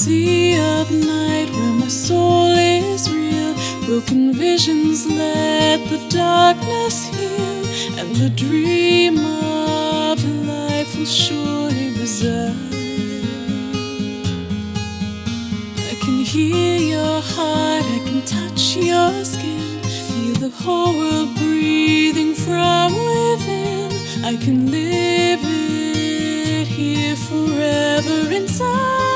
sea of night where my soul is real. Broken visions let the darkness heal, and the dream of life will surely reside. I can hear your heart, I can touch your skin, feel the whole world breathing from within. I can live it here forever inside.